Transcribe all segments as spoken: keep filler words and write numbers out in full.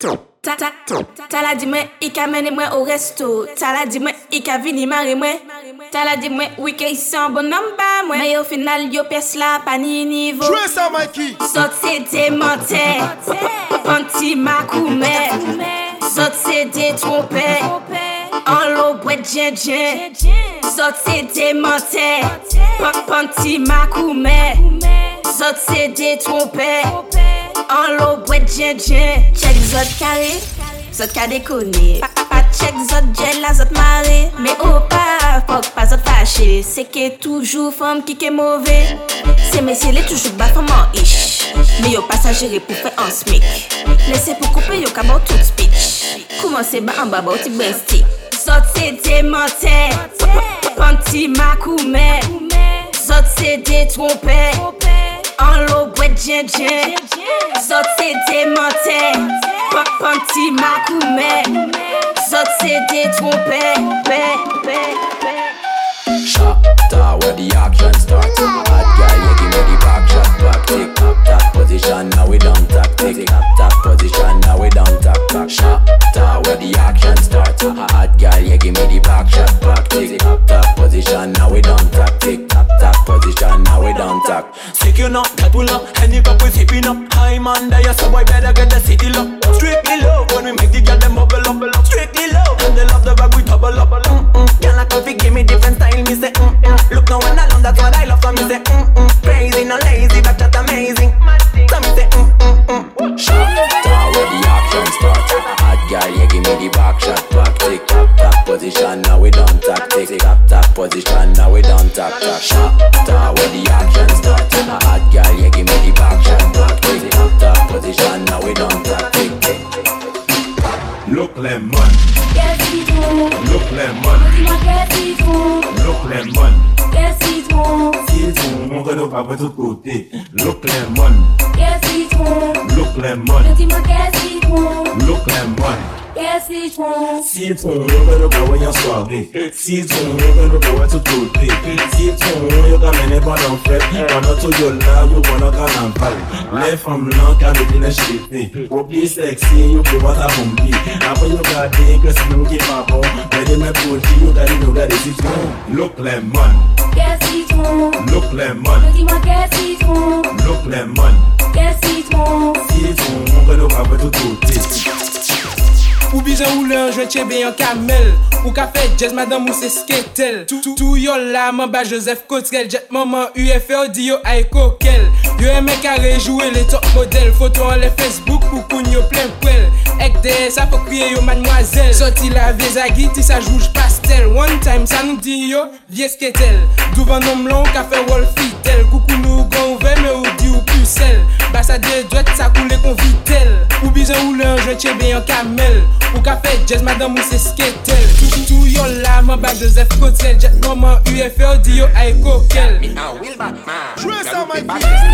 Ta ta ta la dit moi il ka mené moi au resto. Ta la dit moi il ka vini marrer moi. Ta la dit moi oui que ici en bon number moi. Mais au final yo pèse la pas ni niveau. Jouez ça Mikey. Sot c'est démenté. Panti makoumé. Sot c'est détrompé. En l'eau boîte djen djen. Sot c'est démenté. Panti makoumé. Sot c'est détrompé. En l'eau boîte djen djen. Check zot carré. Zot ka déconné. Pas check zot gel la zot maré. Mais oh pas, faut pas zot fâché. C'est que toujours femme qui est mauvais. C'est messieurs les toujours bas femme en ish. Mais yo pas ça gérer pour faire un smic. Laissez pour couper yo kabou tout speech. Commencez bas en bas bas ti bresti. Zot c'est démenté. Panti makoumé. Zot c'est détrompé. En l'eau boîte djen djen. Zot c'est démenté. Panti makoumé. Zot c'est détrompé. Shatta where the action start. Hot girl, you give me the back shot back. Tick tap tap position, now we down tap. Tick tap tap position, now we down tap back. Shatta where the action start. Hot girl, you give me the back shot back. Tick tap tap position, now we down tap. Tick tap tap position, now we down tap. Sick you know, that pull up, and if up we zipping up. High man, there so boy better get the city lock. Strictly love when we make the girl them bubble up. Strictly love, and they love the bag we double up. Mm-mm. Girl like coffee, give me different style. Me say mm-mm. Look now when I love, that's what I love. So me say mm-mm. Crazy, no lazy, but just amazing. So me say mm-mm-mm. Shatta where the action start. Hot girl, you give me the back shot back. Tick tap tap position, now we down tap. Tick tap tap position, now we down tap. Shatta where the action start. Hot girl, you give me the back shot back. Tick tap tap position, now we down tap. Tick tick. Look lemon. Look lemon. Look lemon. Citron, mon gars pas de tout côté. Look lemon. Look lemon. Look lemon. Citron, mon gars pas voyer en soirée. Citron, mon gars pas tout côté. Citron, yo ka mène pendant fête. Pendant tout yo là, yo pendant carnaval. Les femmes là ka mettre les cheveux. Pour plus sexy, yo pour voir ta pompi. Après yo ka dire que c'est nous qui pas bon. Mais de mes produits, yo ka dire yo ka des citron. Look lemon. Look lemon. Look lemon. Citron, mon gars pas tout côté. Ou bizan ou l'un, je tiens bien un camel. Ou café jazz, madame ou c'est sketel. Tout yo la, man ba Joseph Cotrel. Jet maman U F O, di yo ay kokel. Yo eme carré jouer les top modèles. Photo en les Facebook, ou koun yo plein poil. Ek de, ça faut crier yo mademoiselle. Sorti la vie zagi, ti sa jouge pastel. One time, ça nous dit yo, vie sketel. Douvan nom long, café wall fitel. Coucou nous gon ouve, mais ou di ou pucelle. Bassa de droite, ça coule qu'on vitel. Ou bizan ou l'un, je tiens bien un camel. Ou café jazz, madame ou c'est sketel. Tout, tout yo la, man ba Joseph Cotrel. Jet maman U F O, di yo ay kokel. Jouez ça Mikey.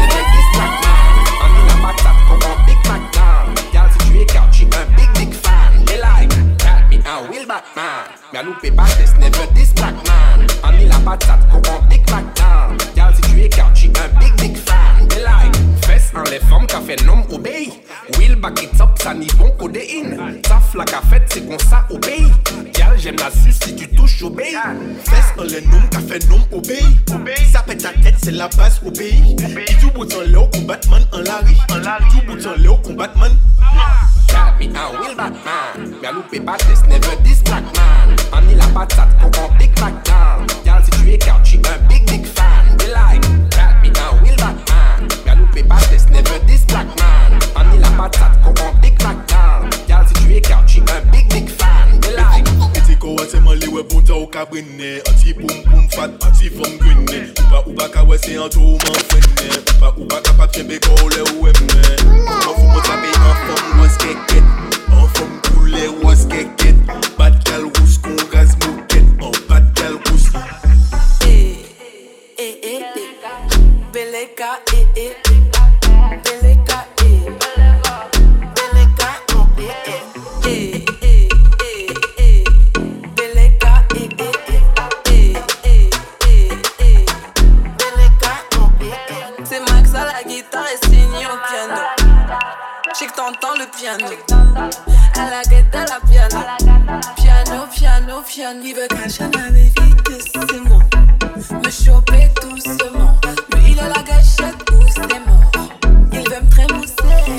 Me a loupé pas test, never this black man. On est la patate, qu'on big back down. Y'all si tu es car tu un big big fan. They like, fesse en les femmes qu'a fait nom obéi. Will back it up, ça n'y bon codéine. Taf la qu'a fait, c'est qu'on ça obéi. Y'all j'aime la suce si tu touches obéi. Fesse en les noms qu'a fait nom obéi. Ça pète ta tête, c'est la base obéi. Et tout bout en léo, combatman en Larry. Tout bout en léo, combatman. Got me a will Batman. Me a loupé pas test, never this black man. On est la patate, qu'on prend big back down. Y'all si tu es car tu un big big fan. They like, got me a will Batman. Me a loupé pas test, never this black man. On est la patate, qu'on prend big back down. Y'all si tu es car tu un big big fan. They like. Eti ko wase man li we bon ta ou ka brene. Anti poum poum fat, anti fom grene. Ou pa ou pa ka wese an tou man fene. Ou pa ou pa ka pat kembe ko le ou eme. Ou fou mo tabe an fom was keket. An fom koule was keket. Bad gal rous kon gaz moket. An bad gal rous. Eh, eh, eh, eh. Beleka, eh, eh. Beleka, eh. Beleka, oh, eh, eh. Eh, eh, eh, eh. Beleka, eh, eh, eh. Eh, eh, eh, eh. Beleka, oh, eh, eh. C'est Max à la guitare et Signy au piano. J'sais que t'entends le piano. À la guette à la piano. Piano, piano, piano. Il veut cacher ma vie doucement. Me choper doucement. Lui il a la gâchette doucement. Il veut me trémousser.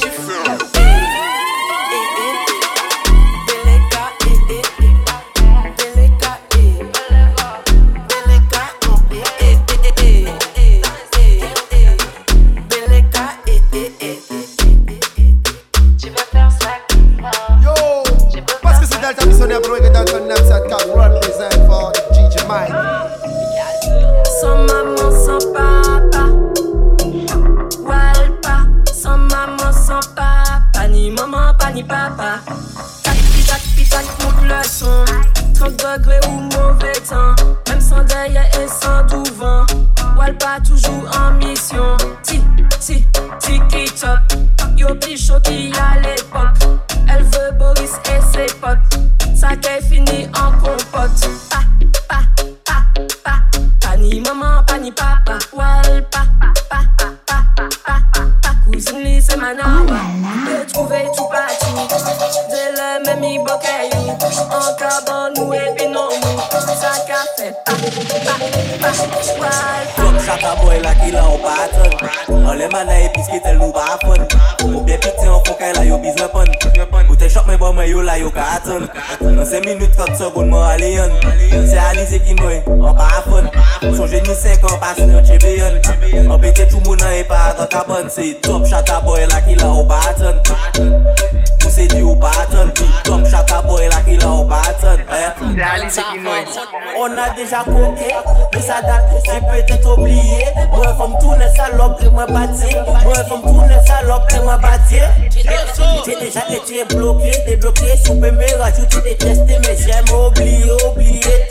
Sans maman, sans papa, Walpa. Sans maman, sans papa, ni maman, pas ni papa. Tac, tac, tac, monte le son. trente degrés ou mauvais temps, même sans derrière et sans tout vent. Walpa toujours en mission. Ti, ti, ti, qui top. Yo, pichot qui à l'époque. Elle veut Boris et ses potes. Ça qu'est fini en compote. Pa, pa, pa, pa, pa, ni maman, pas ni papa. Walpa, pa, pa, pa, pa, pa, pa. Cousine li c'est manawa. De trouver tout partout. De le même i bokayou. En carbone ou et non mou. Ça qu'a fait pa, pa, pa, walpa. Comme chata boy la qui l'a au pattern. On les mana et puisque tel nous pas fun. Ou bien pitié en faut qu'elle a yo business pun. Ou t'es choc mais bon mais yo la yo carton. Dans cinq minutes trente secondes moi alien. C'est Alizé qui moi en pas fun. Son génie cinq ans passe en champion. En pété tout moun et pas dans cabane. C'est top chata boy la qui l'a au pattern. Ou c'est du au pattern. Top chata boy la qui l'a au pattern. C'est Alizé qui moi. On a déjà coqué, mais ça date, j'ai peut-être oublié. Moi, comme tous les salopes, et moi bâti. Moi, comme tous les salopes, et moi bâti. J'ai déjà été bloqué, débloqué. Si on peut me rajouter des tests, mais j'aime oublier, oublier.